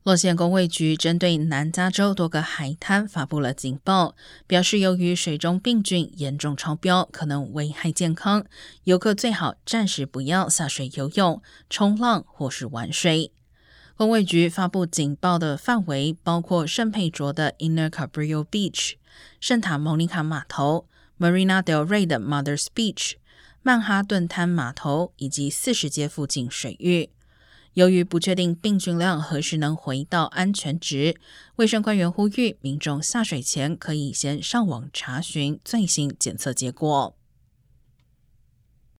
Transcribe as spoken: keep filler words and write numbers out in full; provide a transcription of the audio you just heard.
洛县公卫局针对南加州多个海滩发布了警报，表示由于水中病菌严重超标，可能危害健康，游客最好暂时不要下水游泳、冲浪或是玩水。公卫局发布警报的范围包括圣佩卓的 Inner Cabrillo Beach、圣塔莫尼卡码头、Marina del Rey 的 Mothers Beach、曼哈顿滩码头以及四十街附近水域。由于不确定病菌量何时能回到安全值，卫生官员呼吁民众下水前可以先上网查询最新检测结果。